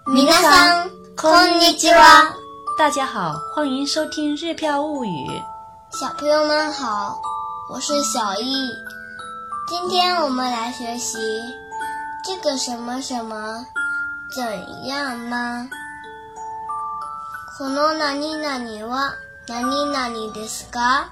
皆さんこんにちは。 大家好，欢迎收听日漂物语。 小朋友们好，我是小易。今天我们来学习这个什么什么怎样吗？この何々は何々ですか？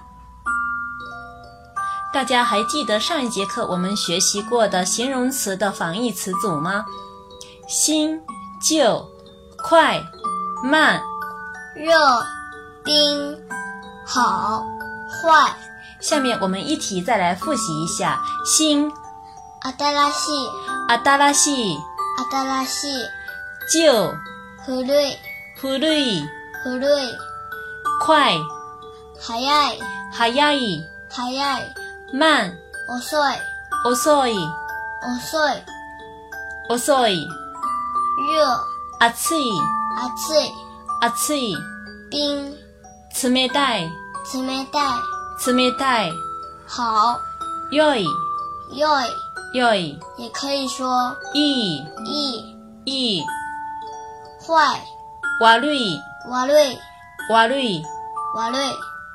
大家还记得上一节课我们学习过的形容词的反义词组吗？新、旧、快、慢、 热、冰、好、坏。 下面我们一题再来复习一下。新、 新しい、 新しい、 新しい。 旧、 古い、 古い、 古い。 快、 早い、 早い、 早い。 慢、 遅い、 遅い、 遅い。 遅い。 热、 暑い、 暑い。 暑い。 冰、 冷たい、 冷たい。 冷たい。 好、 良い、 良い。 良い。 也可以说いい、 いい。 いい。 坏、 悪い、 悪い、 悪い。 悪い。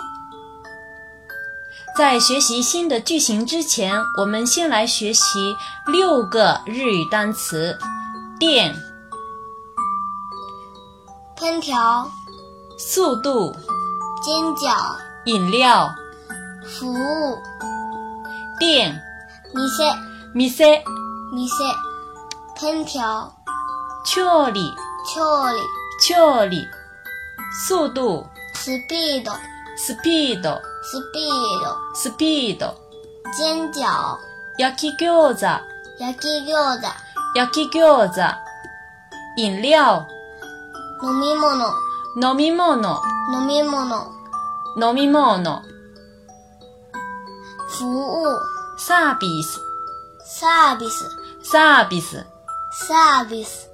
在学习新的句型之前，我们先来学习6个日语单词。电、 烹调、 速度、 煎饺、 饮料。 服务。 店、 店、 店、 店。烹調、 調理、 調理。 調理。速度、 スピード、 スピード、 スピード。 スピード。 煎饺、 焼き餃子、 焼き餃子。 焼き餃子。飲料、 飲み物、 飲み物、 飲み物。 飲み物。 服务、 サービス、 サービス、 サービス。 サービス。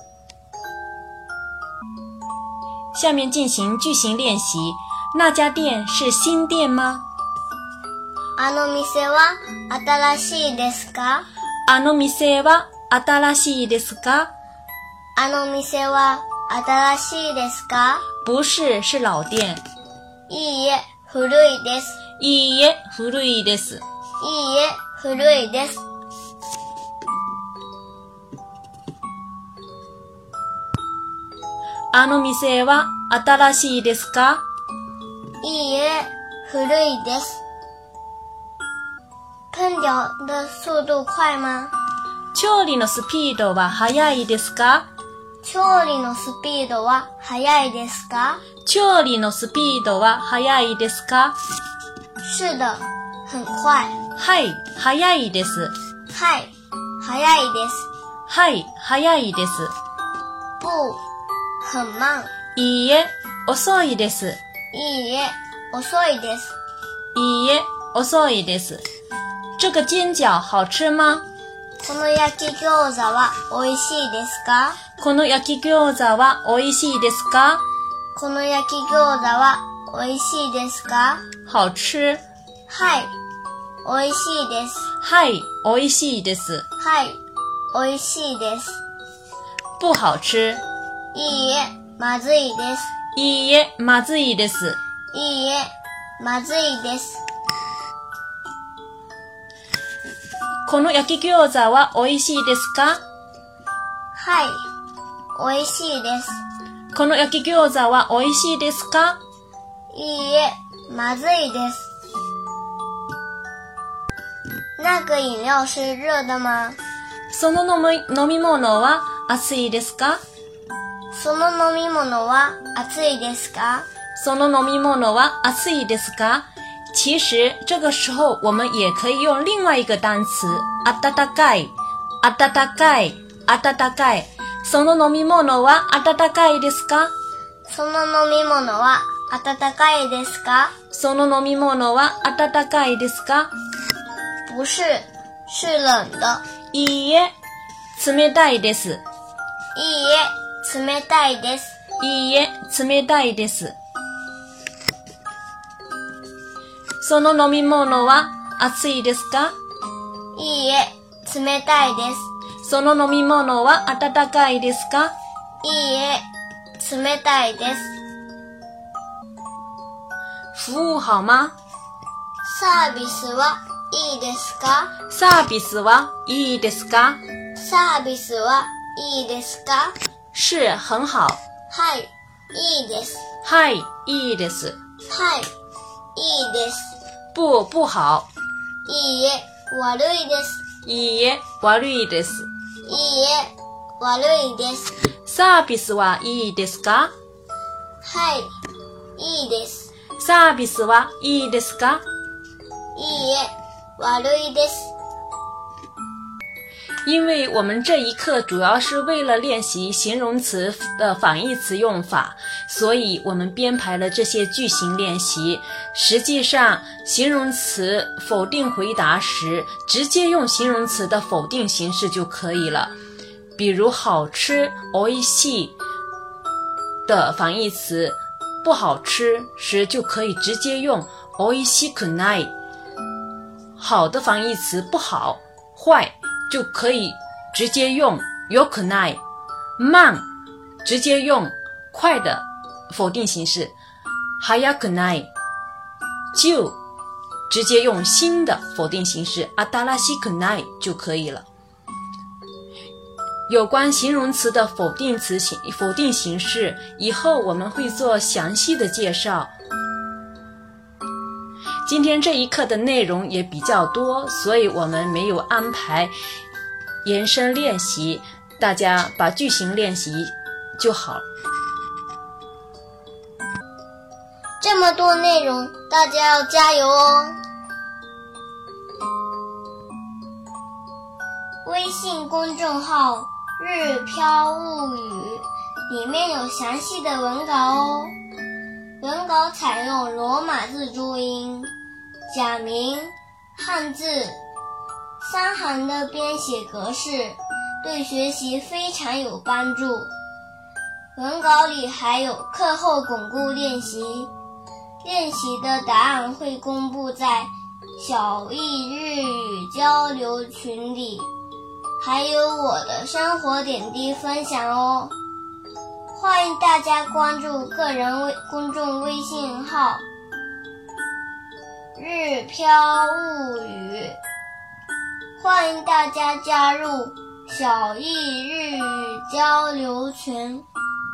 下面进行句型练习。那家店是新店吗？ あの店は新しいですか？ あの店は新しいですか？ あの店は新しいですか？ 不是，是老店。 いいえ、古いです。 いいえ、古いです。 いいえ、古いです。 あの店は新しいですか？ いいえ、古いです。烹调的速度快吗？ 調理のスピードは速いですか？ 調理のスピードは速いですか？ 調理のスピードは速いですか？ 是的、很快。 はい、速いです。 はい、速いです。 はい、速いです。 不、很慢。 いいえ、遅いです。 いいえ、遅いです。 いいえ、遅いです。这个煎饺好吃吗？ この焼き餃子は美味しいですか？ この焼き餃子は美味しいですか？ この焼き餃子は美味しいですか？ 好吃。 はい、美味しいです。 はい、美味しいです。 はい、美味しいです。 不好吃。 いいえ、まずいです。 いいえ、まずいです。 いいえ、まずいです。 この焼き餃子は美味しいですか？ はい、美味しいです。 この焼き餃子は美味しいですか？ いいえ、まずいです。那个饮料是热的吗？ その飲み物は熱いですか？ その飲み物は熱いですか？ その飲み物は熱いですか？其实这个时候我们也可以用另外一个单词温かい、温かい、温かい。その飲み物は温かいですか？ その飲み物は温かいですか？ その飲み物は温かいですか？ 不是、是冷的。 いいえ、冷たいです。 いいえ、冷たいです。 いいえ、冷たいです。その飲み物は熱いですか？ いいえ、冷たいです。 その飲み物は温かいですか？ いいえ、冷たいです。 服务好吗？ サービスはいいですか？ サービスはいいですか？ サービスはいいですか？ 是很好。 はい、いいです。 はい、いいです。 はい、いいです。 不好。 いいえ、悪いです。 いいえ、悪いです。 いいえ、悪いです。 サービスはいいですか？ はい、いいです。 サービスはいいですか？ いいえ、悪いです。 因为我们这一课主要是为了练习形容词的反义词用法，所以我们编排了这些句型练习。实际上，形容词否定回答时，直接用形容词的否定形式就可以了。比如好吃おいしい的反义词不好吃时，就可以直接用おいしくない。好的反义词不好坏就可以直接用良くない。慢直接用快的否定形式早くない。旧直接用新的否定形式新しくない就可以了。有关形容词的否定形式，以后我们会做详细的介绍。今天这一课的内容也比较多，所以我们没有安排延伸练习，大家把句型练习就好。 这么多内容，大家要加油哦！微信公众号日飘物语里面有详细的文稿哦。文稿采用罗马字注音、假名、汉字3行的编写格式，对学习非常有帮助。文稿里还有课后巩固练习，练习的答案会公布在小易日语交流群里，还有我的生活点滴分享哦。欢迎大家关注个人公众微信号日飘物语，欢迎大家加入小易日语交流群。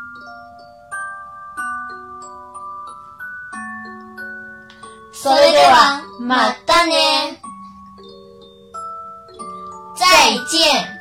それではまたね。再见。